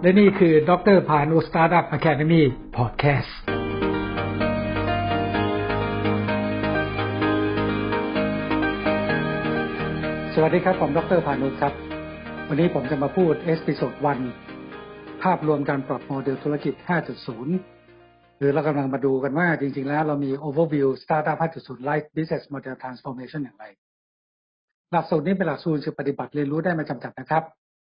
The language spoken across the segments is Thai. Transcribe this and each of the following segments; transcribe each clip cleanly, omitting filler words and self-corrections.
และนี่คือดร.พานุ Startup Academy Podcast สวัสดีครับผมดร.พานุครับวันนี้ผมจะมาพูดเอพิโซด1ภาพรวมการปรับโมเดลธุรกิจ 5.0 หรือเรากำลังมาดูกันว่าจริงๆแล้วเรามี Overview Startup 5.0 Life Business Model Transformation อย่างไรหลักสูตรนี้เป็นหลักสูตรปฏิบัติเรียนรู้ได้ไม่จำกัดนะครับ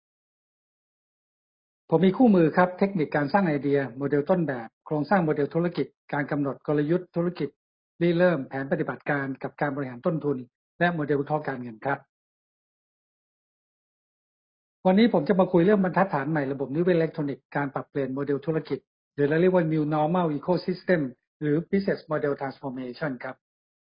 ผมมีคู่มือครับเทคนิคการสร้างไอเดียโมเดลต้นแบบโครงสร้างโมเดลธุรกิจการกำหนดกลยุทธ์ธุรกิจริเริ่มแผนปฏิบัติการกับการบริหารต้นทุนและโมเดลวิเคราะห์การเงินครับวันนี้ผมจะมาคุยเรื่องบรรทัดฐานใหม่ระบบนิเวศอิเล็กทรอนิกส์การปรับเปลี่ยนโมเดลธุรกิจหรือเราเรียกว่า New Normal Ecosystem หรือ Business Model Transformation ครับ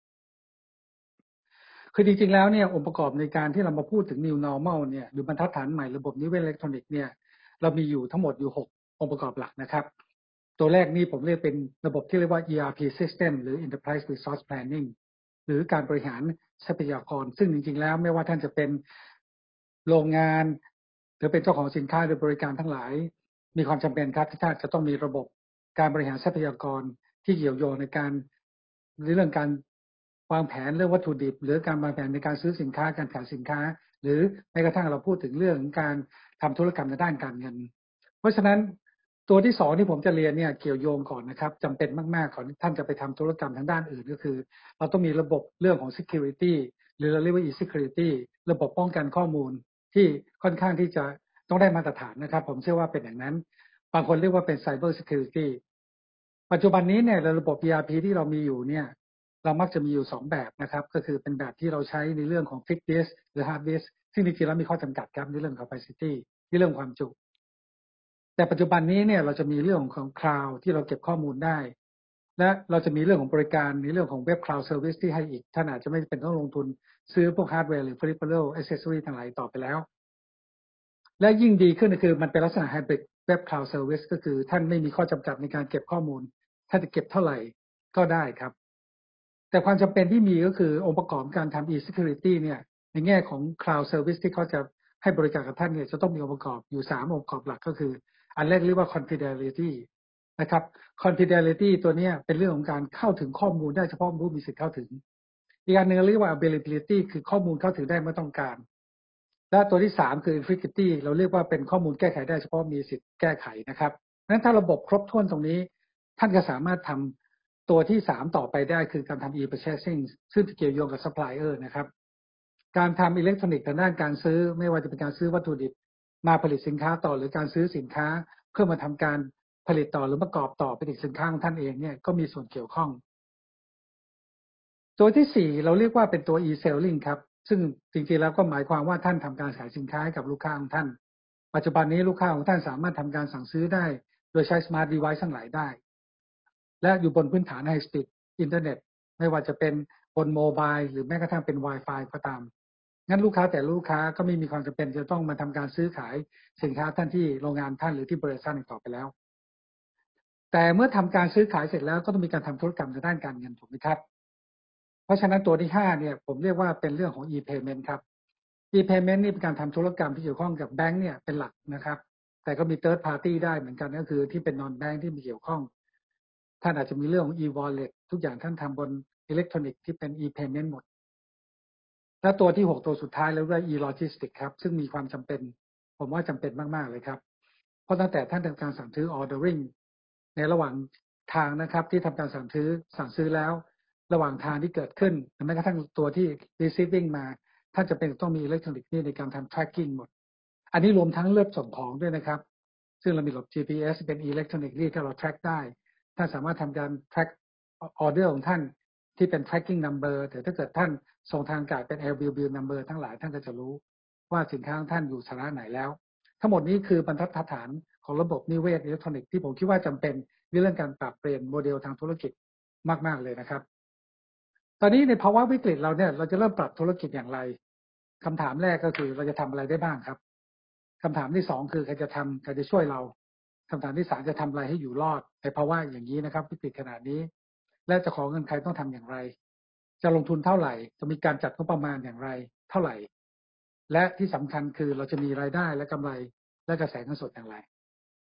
คือจริงๆแล้วเนี่ยองค์ประกอบในการที่เรามาพูดถึง New Normal เนี่ยหรือบรรทัดฐานใหม่ระบบนิเวศอิเล็กทรอนิกส์เนี่ยเรามีอยู่ทั้งหมดอยู่6องค์ประกอบหลักนะครับตัวแรกนี้ผมเรียกเป็นระบบที่เรียกว่า ERP System หรือ Enterprise Resource Planning หรือการบริหารทรัพยากรซึ่งจริงๆแล้วไม่ว่าท่านจะเป็นโรงงานหรือเป็นเจ้าของสินค้าหรือบริการทั้งหลายมีความจำเป็นครับที่ท่านจะต้องมีระบบการบริหารทรัพยากรที่เกี่ยวโยงในการเรื่องการวางแผนเรื่องวัตถุดิบหรือการวางแผนในการซื้อสินค้าการขายสินค้าหรือแม้กระทั่งเราพูดถึงเรื่องการทำธุรกรรมในด้านการเงินเพราะฉะนั้นตัวที่2ที่ผมจะเรียนเนี่ยเกี่ยวโยงก่อนนะครับจำเป็นมากๆก่อนที่ท่านจะไปทำธุรกรรมทางด้านอื่นก็คือเราต้องมีระบบเรื่องของ security หรือเราเรียกว่า e-security ระบบป้องกันข้อมูลที่ค่อนข้างที่จะต้องได้มาตรฐานนะครับผมเชื่อว่าเป็นอย่างนั้นบางคนเรียกว่าเป็น cyber security ปัจจุบันนี้เนี่ยระบบ ERP ที่เรามีอยู่เนี่ยเรามักจะมีอยู่2แบบนะครับก็คือเป็นแบบที่เราใช้ในเรื่องของ fixed disk หรือ hard disk ซึ่งจริงๆแล้วมีข้อจำกัดครับในเรื่อง capacity ที่เรื่องความจุแต่ปัจจุบันนี้เนี่ยเราจะมีเรื่องของ cloud ที่เราเก็บข้อมูลได้และเราจะมีเรื่องของบริการในเรื่องของ web cloud service ที่ให้อีกท่านอาจจะไม่เป็นต้องลงทุนซื้อพวก hardware หรือ peripheral accessory ทั้งหลายต่อไปแล้วและยิ่งดีขึ้นก็คือมันเป็นลักษณะ hybrid web cloud service ก็คือท่านไม่มีข้อจำกัดในการเก็บข้อมูลท่านจะเก็บเท่าไหร่ก็ได้ครับแต่ความจำเป็นที่มีก็คือองค์ประกอบการทำ e-security เนี่ยในแง่ของ cloud service ที่เขาจะให้บริการกับท่านเนี่ยจะต้องมีองค์ประกอบอยู่3องค์ประกอบหลักก็คืออันแรกเรียกว่า confidentiality นะครับ confidentiality ตัวนี้เป็นเรื่องของการเข้าถึงข้อมูลได้เฉพาะผู้มีสิทธิ์เข้าถึงอีกอันหนึ่งเรียกว่า availability คือข้อมูลเข้าถึงได้เมื่อต้องการและตัวที่3คือ integrity เราเรียกว่าเป็นข้อมูลแก้ไขได้เฉพาะมีสิทธิ์แก้ไขนะครับงั้นถ้าระบบครบถ้วนตรงนี้ท่านก็สามารถทำตัวที่3ต่อไปได้คือการทำ e-purchasing ซึ่งเกี่ยวโยงกับ supplier นะครับการทำอิเล็กทรอนิกส์ทางด้านการซื้อไม่ว่าจะเป็นการซื้อวัตถุดิบมาผลิตสินค้าต่อหรือการซื้อสินค้าเพื่อมาทำการผลิตต่อหรือประกอบต่อเป็นอีกสินค้าของท่านเองเนี่ยก็มีส่วนเกี่ยวข้องตัวที่4เราเรียกว่าเป็นตัว e-selling ครับซึ่งจริงๆแล้วก็หมายความว่าท่านทำการขายสินค้าให้กับลูกค้าของท่านปัจจุบันนี้ลูกค้าของท่านสามารถทำการสั่งซื้อได้โดยใช้ smart device ทั้งหลายได้และอยู่บนพื้นฐาน high speed อินเทอร์เน็ตไม่ว่าจะเป็นบนโมบายหรือแม้กระทั่งเป็น Wi-Fi ก็ตามงั้นลูกค้าแต่ลูกค้าก็ไม่มีความจำเป็นจะต้องมาทำการซื้อขายสินค้าท่านที่โรงงานท่านหรือที่บริษัทต่อไปแล้วแต่เมื่อทำการซื้อขายเสร็จแล้วก็ต้องมีการทำธุรกรรมทางด้านการเงินถูกไหมครับเพราะฉะนั้นตัวที่5เนี่ยผมเรียกว่าเป็นเรื่องของ e-payment ครับ e-payment นี่เป็นการทำธุรกรรมที่เกี่ยวข้องกับแบงก์เนี่ยเป็นหลักนะครับแต่ก็มี third party ได้เหมือนกันก็คือที่เป็น non bank ที่มีเกี่ยวข้องท่านอาจจะมีเรื่องของ e-wallet ทุกอย่างท่านทำบนอิเล็กทรอนิกส์ที่เป็น e-payment หมดและตัวที่6ตัวสุดท้ายแล้วเรียก e-logistics ครับซึ่งมีความจำเป็นผมว่าจำเป็นมากๆเลยครับเพราะตั้งแต่ท่านทำการสั่งซื้อ ordering ในระหว่างทางนะครับที่ทำการสั่งซื้อแล้วระหว่างทางที่เกิดขึ้นแม้กระทั่งตัวที่ receiving มาท่านจะเป็นต้องมีอิเล็กทรอนิกส์นี่ในการทำ tracking หมดอันนี้รวมทั้งเลือกส่งของด้วยนะครับซึ่งเรามีระบบ GPS เป็นอิเล็กทรอนิกส์ที่ถ้าเรา track ได้ท่านสามารถทำการ track order ของท่านที่เป็น tracking number แต่ถ้าเกิดท่านส่งทางอากาศเป็น LBB number ทั้งหลายท่านก็จะรู้ว่าสินค้าของท่านอยู่สถานะไหนแล้วทั้งหมดนี้คือบรรทัดฐานของระบบนิเวศอิเล็กทรอนิกส์ที่ผมคิดว่าจำเป็นในเรื่องการปรับเปลี่ยนโมเดลทางธุรกิจมากๆเลยนะครับตอนนี้ในภาวะวิกฤตเราเนี่ยเราจะเริ่มปรับธุรกิจอย่างไรคำถามแรกก็คือเราจะทำอะไรได้บ้างครับคำถามที่2คือใครจะช่วยเราคำถามที่3จะทำอะไรให้อยู่รอดในภาวะอย่างนี้นะครับวิกฤตขนาดนี้และจะขอเงินใครต้องทำอย่างไรจะลงทุนเท่าไหร่จะมีการจัดงบประมาณอย่างไรเท่าไหร่และที่สำคัญคือเราจะมีรายได้และกำไรและกระแสเงินสดอย่างไร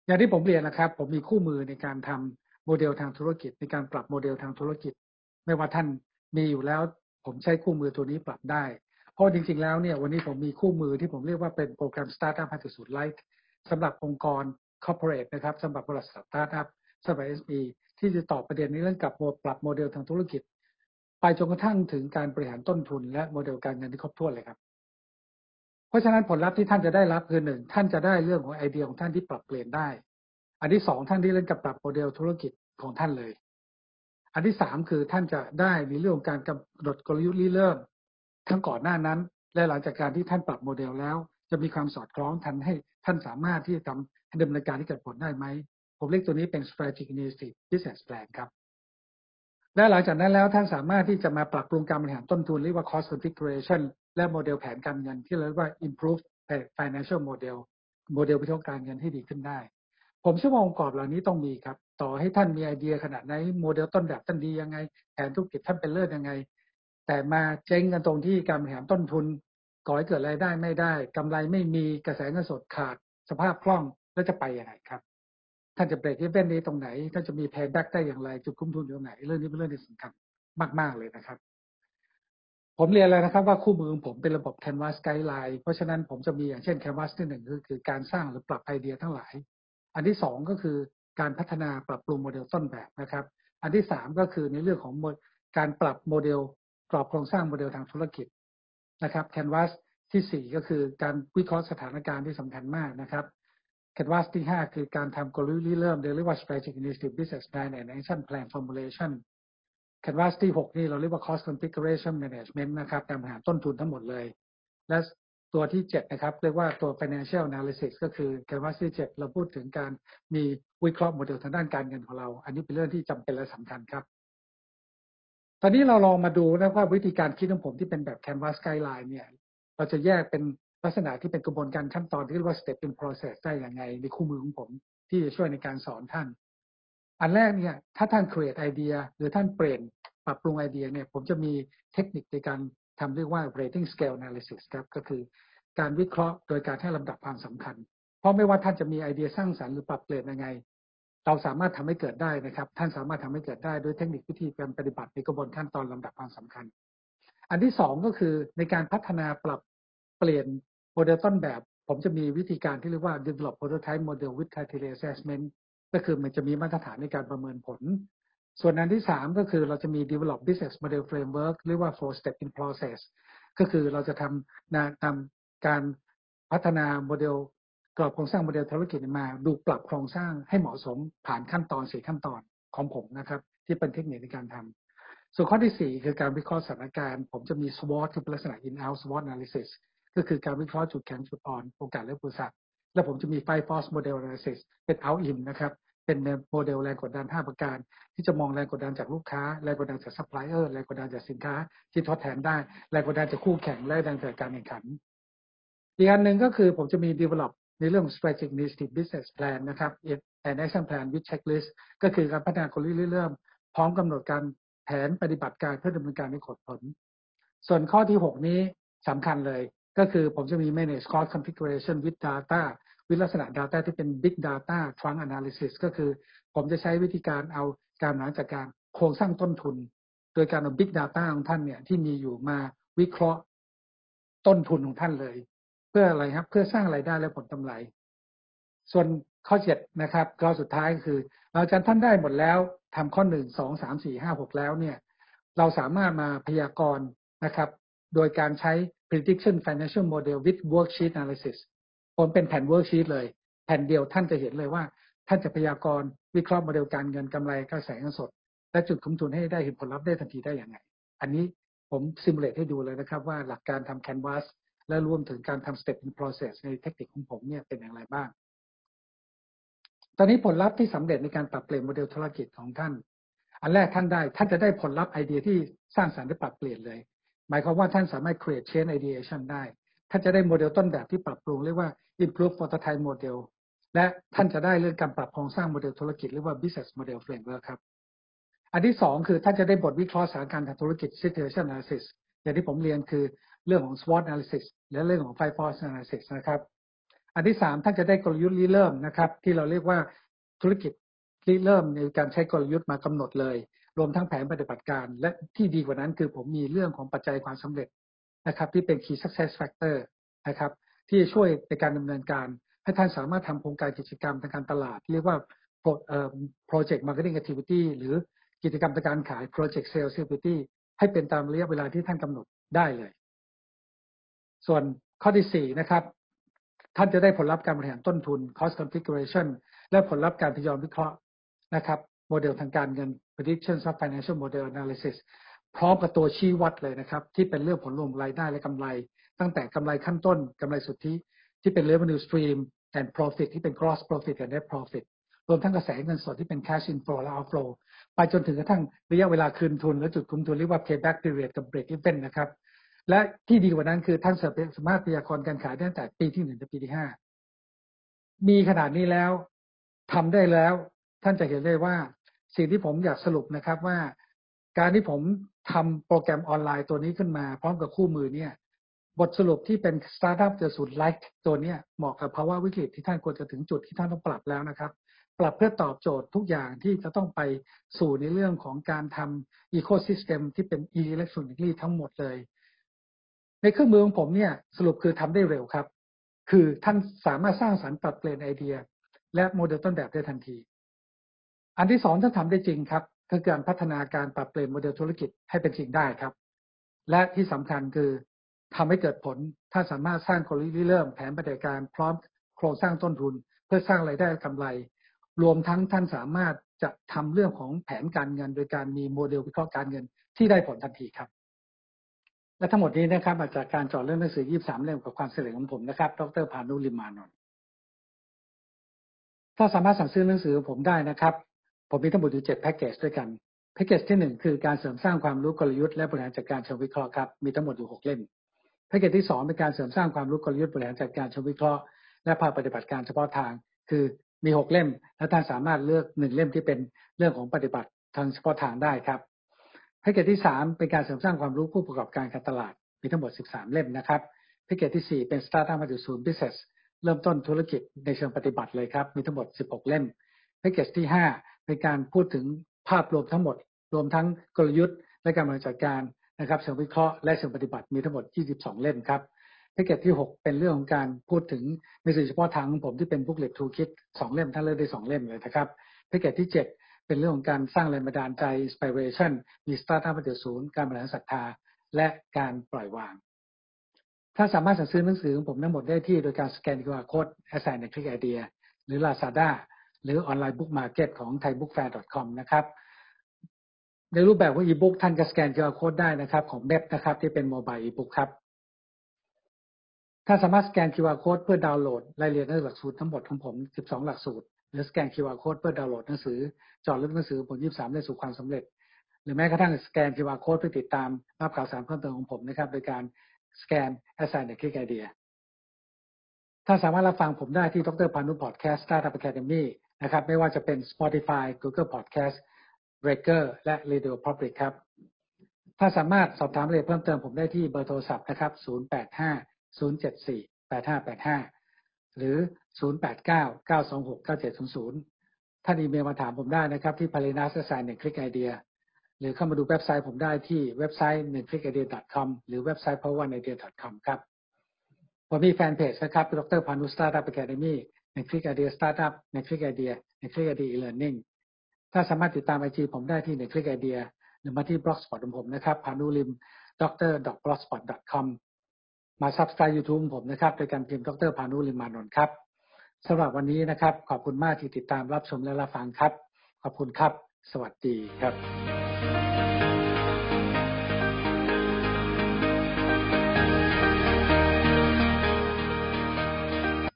อย่างที่ผมเรียนนะครับผมมีคู่มือในการทำโมเดลทางธุรกิจในการปรับโมเดลทางธุรกิจไม่ว่าท่านมีอยู่แล้วผมใช้คู่มือตัวนี้ปรับได้เพราะจริงๆแล้วเนี่ยวันนี้ผมมีคู่มือที่ผมเรียกว่าเป็นโปรแกรม Startup 5.0 Lite สำหรับองค์กร corporate นะครับสำหรับบริษัท Startup สำหรับ SME ที่จะตอบประเด็นในเรื่องกับปรับโมเดลทางธุรกิจไปจนกระทั่งถึงการบริหารต้นทุนและโมเดลการเงินที่ครบถ้วนเลยครับเพราะฉะนั้นผลลัพธ์ที่ท่านจะได้รับคือ1ท่านจะได้เรื่องของไอเดียของท่านที่ปรับเปลี่ยนได้อันที่2ท่านที่เล่นกับปรับโมเดลธุรกิจของท่านเลยอันที่3คือท่านจะได้ในเรื่องของการกำหนดกลยุทธ์ริเริ่มทั้งก่อนหน้านั้นและหลังจากการที่ท่านปรับโมเดลแล้วจะมีความสอดคล้องทันให้ท่านสามารถที่จะทำดำเนินการที่เกิดผลได้ไหมผมเรียกตัวนี้เป็น strategic initiative business plan ครับและหลังจากนั้นแล้วท่านสามารถที่จะมาปรับปรุงการบริหารต้นทุนเรียกว่า cost configuration และโมเดลแผนการเงินที่เรียกว่า improve financial model โมเดลวิเคราะห์การเงินให้ดีขึ้นได้ผมเชื่อว่าองค์ประกอบเหล่านี้ต้องมีครับต่อให้ท่านมีไอเดียขนาดไหนโมเดลต้นแบบท่านดียังไงแผนธุรกิจท่านเป็นเลิศยังไงแต่มาเจ๊งกันตรงที่การบริหารต้นทุนก่อให้เกิดรายได้ไม่ได้กำไรไม่มีกระแสเงินสดขาดสภาพคล่องแล้วจะไปยังไงครับท่านจะเบรกอีเวนต์นี้ตรงไหนท่านจะมี payback ได้อย่างไรจุดคุ้มทุนอยู่ตรงไหนเรื่องนี้เป็นเรื่องที่สำคัญมากๆเลยนะครับผมเรียนแล้วนะครับว่าคู่มือของผมเป็นระบบ Canvas Guideline เพราะฉะนั้นผมจะมีอย่างเช่น Canvas ที่1ก็คือการสร้างหรือปรับไอเดียทั้งหลายอันที่2ก็คือการพัฒนาปรับปรุงโมเดลต้นแบบนะครับอันที่3ก็คือในเรื่องของการปรับโมเดลกรอบโครงสร้างโมเดลทางธุรกิจนะครับ Canvas ที่4ก็คือการวิเคราะห์สถานการณ์ที่สำคัญมากนะครับ Canvas ที่5คือการทำกลยุทธ์ริเริ่มเรียกว่า Strategic Initiative Business Plan and Action Plan Formulation Canvas ที่6นี่เราเรียกว่า Cost Configuration Management นะครับการบริหารต้นทุนทั้งหมดเลยและตัวที่7นะครับเรียกว่าตัว Financial Analysis ก็คือ Canvas ที่7เราพูดถึงการมีวิเคราะห์โมเดลทางด้านการเงินของเราอันนี้เป็นเรื่องที่จำเป็นและสำคัญครับตอนนี้เราลองมาดูนะว่าวิธีการคิดของผมที่เป็นแบบ Canvas Guideline เนี่ยเราจะแยกเป็นลักษณะที่เป็นกระบวนการขั้นตอนที่เรียกว่า Step in Process ได้อย่างไงในคู่มือของผมที่จะช่วยในการสอนท่านอันแรกเนี่ยถ้าท่าน create ไอเดียหรือท่านเปลี่ยนปรับปรุงไอเดียเนี่ยผมจะมีเทคนิคในการทำเรียกว่า rating scale analysis ครับก็คือการวิเคราะห์โดยการให้ลำดับความสำคัญเพราะไม่ว่าท่านจะมีไอเดียสร้างสรรค์หรือปรับเปลี่ยนยังไงเราสามารถทำให้เกิดได้นะครับท่านสามารถทำให้เกิดได้ด้วยเทคนิควิธีการปฏิบัติในกระบวนขั้นตอนลำดับความสำคัญอันที่2ก็คือในการพัฒนาปรับเปลี่ยนโมเดลต้นแบบผมจะมีวิธีการที่เรียกว่า develop prototype model with criteria assessment ก็คือมันจะมีมาตรฐานในการประเมินผลส่วนอันที่3ก็คือเราจะมี develop business model framework เรียกว่า four step in process ก็คือเราจะทำการพัฒนาโมเดลกรอบโครงสร้างโมเดลธุรกิจมาดูปรับโครงสร้างให้เหมาะสมผ่านขั้นตอน4ขั้นตอนของผมนะครับที่เป็นเทคนิคในการทำส่วนข้อที่4คือการวิเคราะห์สถานการณ์ผมจะมี SWOT ที่เป็นลักษณะ in-out SWOT analysis ก็คือการวิเคราะห์จุดแข็งจุดอ่อนโอกาสและอุปสรรคและผมจะมี Five Force Model Analysis เป็น out in นะครับเป็นโมเดลแรงกดดัน5ประการที่จะมองแรงกดดันจากลูกค้าแรงกดดันจากซัพพลายเออร์แรงกดดันจากสินค้าที่ทดแทนได้แรงกดดันจากคู่แข่งและแรงกดดันจากการแข่งขันอีกอันหนึ่งก็คือผมจะมี develop ในเรื่อง strategic initiative business plan นะครับ and action plan with checklist ก็คือการพัฒนากลยุทธ์เริ่มพร้อมกำหนดการแผนปฏิบัติการเพื่อดำเนินการให้ผลส่วนข้อที่6นี้สำคัญเลยก็คือผมจะมี manage cost configuration with data วิลักษณะ data ที่เป็น big data trunk analysis ก็คือผมจะใช้วิธีการเอาการบริหารจัดการโครงสร้างต้นทุนโดยการเอา big data ของท่านเนี่ยที่มีอยู่มาวิเคราะห์ต้นทุนของท่านเลยเพื่ออะไรครับเพื่อสร้างรายได้และผลกำไรส่วนข้อ7นะครับข้อสุดท้ายคือเราจะท่านได้หมดแล้วทำข้อ1 2 3 4 5 6แล้วเนี่ยเราสามารถมาพยากรณ์นะครับโดยการใช้ prediction financial model with worksheet analysis ผมเป็นแผ่น worksheet เลยแผ่นเดียวท่านจะเห็นเลยว่าท่านจะพยากรณ์วิเคราะห์โมเดลการเงินกำไรกระแสเงินสดและจุดคุ้มทุนให้ได้เห็นผลลัพธ์ได้ทันทีได้อย่างไรอันนี้ผมซิมูเลตให้ดูเลยนะครับว่าหลักการทำ Canvas และรวมถึงการทำ step in process ในเทคนิคของผมเนี่ยเป็นอย่างไรบ้างตอนนี้ผลลัพธ์ที่สำเร็จในการปรับเปลี่ยนโมเดลธุรกิจของท่านอันแรกท่านจะได้ผลลัพธ์ไอเดียที่สร้างสรรค์และปรับเปลี่ยนเลยหมายความว่าท่านสามารถ create chain ideation ได้ท่านจะได้โมเดลต้นแบบที่ปรับปรุงเรียกว่า improve prototype model และท่านจะได้เรื่องการปรับโครงสร้างโมเดลธุรกิจเรียกว่า business model framework ครับอันที่2คือท่านจะได้บทวิเคราะห์สถานการณ์ทางธุรกิจ situation analysis อย่างที่ผมเรียนคือเรื่องของ SWOT analysis และเรื่องของ Five Force analysis นะครับอันที่3ท่านจะได้กลยุทธ์ริเริ่มนะครับที่เราเรียกว่าธุรกิจริเริ่มในการใช้กลยุทธ์มากำหนดเลยรวมทั้งแผนปฏิบัติการและที่ดีกว่านั้นคือผมมีเรื่องของปัจจัยความสำเร็จนะครับที่เป็น Key Success Factor นะครับที่ช่วยในการดำเนินการให้ท่านสามารถทำโครงการกิจกรรมทางการตลาดเรียกว่า Project Marketing Activity หรือกิจกรรมทางการขาย Project Sales Activity ให้เป็นตามระยะเวลาที่ท่านกำหนดได้เลยส่วนข้อที่4นะครับท่านจะได้ผลลัพธ์การบริหารต้นทุน cost configuration และผลลัพธ์การทยอยวิเคราะห์นะครับโมเดลทางการเงิน predictions of financial model analysis พร้อมกับตัวชี้วัดเลยนะครับที่เป็นเรื่องผลรวมรายได้และกำไรตั้งแต่กำไรขั้นต้นกำไรสุทธิที่เป็น revenue stream and profit ที่เป็น gross profit และ net profit รวมทั้งกระแสเงินสดที่เป็น cash inflow และ outflow ไปจนถึงกระทั่งระยะเวลาคืนทุนและจุดคุ้มทุนเรียกว่า payback period กับ break even นะครับและที่ดีกว่านั้นคือท่านสามารถพยากรณ์การขายได้ตั้งแต่ปีที่1ถึงปีที่5มีขนาดนี้แล้วทำได้แล้วท่านจะเห็นได้ว่าสิ่งที่ผมอยากสรุปนะครับว่าการที่ผมทำโปรแกรมออนไลน์ตัวนี้ขึ้นมาพร้อมกับคู่มือเนี่ยบทสรุปที่เป็นสตาร์ทอัพเจอสูตรไลฟ์ตัวนี้เหมาะกับภาวะวิกฤตที่ท่านควรจะถึงจุดที่ท่านต้องปรับแล้วนะครับปรับเพื่อตอบโจทย์ทุกอย่างที่จะต้องไปสู่ในเรื่องของการทำอีโคซิสเต็มที่เป็นอิเล็กทรอนิกส์ทั้งหมดเลยในเครื่องมือของผมเนี่ยสรุปคือทำได้เร็วครับคือท่านสามารถสร้างสรรค์ปรับเปลี่ยนไอเดียและโมเดลต้นแบบได้ทันทีอันที่2ท่านทำได้จริงครับคือการพัฒนาการปรับเปลี่ยนโมเดลธุรกิจให้เป็นจริงได้ครับและที่สำคัญคือทำให้เกิดผลถ้าสามารถสร้างกลยุทธ์เริ่มแผนปฏิบัติการพร้อมโครงสร้างต้นทุนเพื่อสร้างรายได้กำไรรวมทั้งท่านสามารถจะทำเรื่องของแผนการเงินโดยการมีโมเดลวิเคราะห์การเงินที่ได้ผลทันทีครับและทั้งหมดนี้นะครับมาจากการเจาะเรื่องหนังสือ23เล่มกับความเฉลียวของผมนะครับดร.พานุ ลิมมานนท์ถ้าสามารถสั่งซื้อหนังสือผมได้นะครับผมมีทั้งหมดอยู่7แพ็กเกจด้วยกันแพ็กเกจที่1คือการเสริมสร้างความรู้กลยุทธ์และบริหารจัดการเชิงวิเคราะห์ครับมีทั้งหมดอยู่6เล่มแพ็กเกจที่2เป็นการเสริมสร้างความรู้กลยุทธ์บริหารจัดการเชิงวิเคราะห์และภาคปฏิบัติการเฉพาะทางคือมี6เล่มและท่านสามารถเลือก1เล่มที่เป็นเรื่องของปฏิบัติทางเฉพาะทางได้ครับแพ็กเกจที่3เป็นการเสริมสร้างความรู้ผู้ประกอบการการตลาดมีทั้งหมด13เล่มนะครับแพ็กเกจที่4เป็น Startup 1.0 Business เริ่มต้นธุรกิจในเชิงปฏิบัติเลยครับมีทั้งหมด16เล่มแพ็กเกจที่5เป็นการพูดถึงภาพรวมทั้งหมดรวมทั้งกลยุทธ์และการบริหารจัดการนะครับเชิงวิเคราะห์และเชิงปฏิบัติมีทั้งหมด22เล่มครับแพ็กเกจที่6เป็นเรื่องของการพูดถึงในสื่อเฉพาะทางของผมที่เป็น Booklet Toolkit 2เล่มท่านเลือกได้2เล่มเลยนะครับแพ็กเกจที่7เป็นเรื่องของการสร้างแรงบันดาลใจ Inspiration มี Startup 1.0 การบริหารศรัทธาและการปล่อยวางถ้าสามารถสั่งซื้อหนังสือของผมทั้งหมดได้ที่โดยการสแกน QR Code Assign ใน Click Idea หรือ Lazada หรือออนไลน์ Book Market ของ thaibookfair.com นะครับในรูปแบบของ e-book ท่านก็สแกน QR Code ได้นะครับของเว็บนะครับที่เป็น Mobile e-book ครับถ้าสามารถสแกน QR Code เพื่อดาวน์โหลดรายละเอียดในหลักสูตรทั้งหมดของผม12หลักสูตรหรือสแกน QR Code เพื่อดาวน์โหลดหนังสือเจาะลึกหนังสือผล23ได้สู่ความสำเร็จหรือแม้กระทั่งสแกน QR Code เพื่อติดตามรับข่าวสารเพิ่มเติมของผมนะครับโดยการสแกน Assign ใน Click Idea ถ้าสามารถรับฟังผมได้ที่ดร.พานุ Podcast Startup Academy นะครับไม่ว่าจะเป็น Spotify Google Podcast Breaker และ Radio Public ครับถ้าสามารถสอบถามรายละเอียดเพิ่มเติมผมได้ที่เบอร์โทรศัพท์นะครับ0850748585หรือ0899269700ท่านอีเมลมาถามผมได้นะครับที่ palenas@1clickidea หรือเข้ามาดูเว็บไซต์ผมได้ที่เว็บไซต์ 1clickidea.com หรือเว็บไซต์ power1idea.com ครับผมมีแฟนเพจนะครับดร.พานุ Startup Academy 1click idea Startup 1click idea 1click idea e-learning ถ้าสามารถติดตาม IG ผมได้ที่ 1click idea หรือมาที่ blogspot ของผมนะครับ panulim dr.blogspot.com มา Subscribe YouTube ของผมนะครับโดยการพิมพ์ดร.พานุ ลิมมานนท์ครับสำหรับวันนี้นะครับขอบคุณมากที่ติดตามรับชมและรับฟังครับขอบคุณครับสวัสดีครับ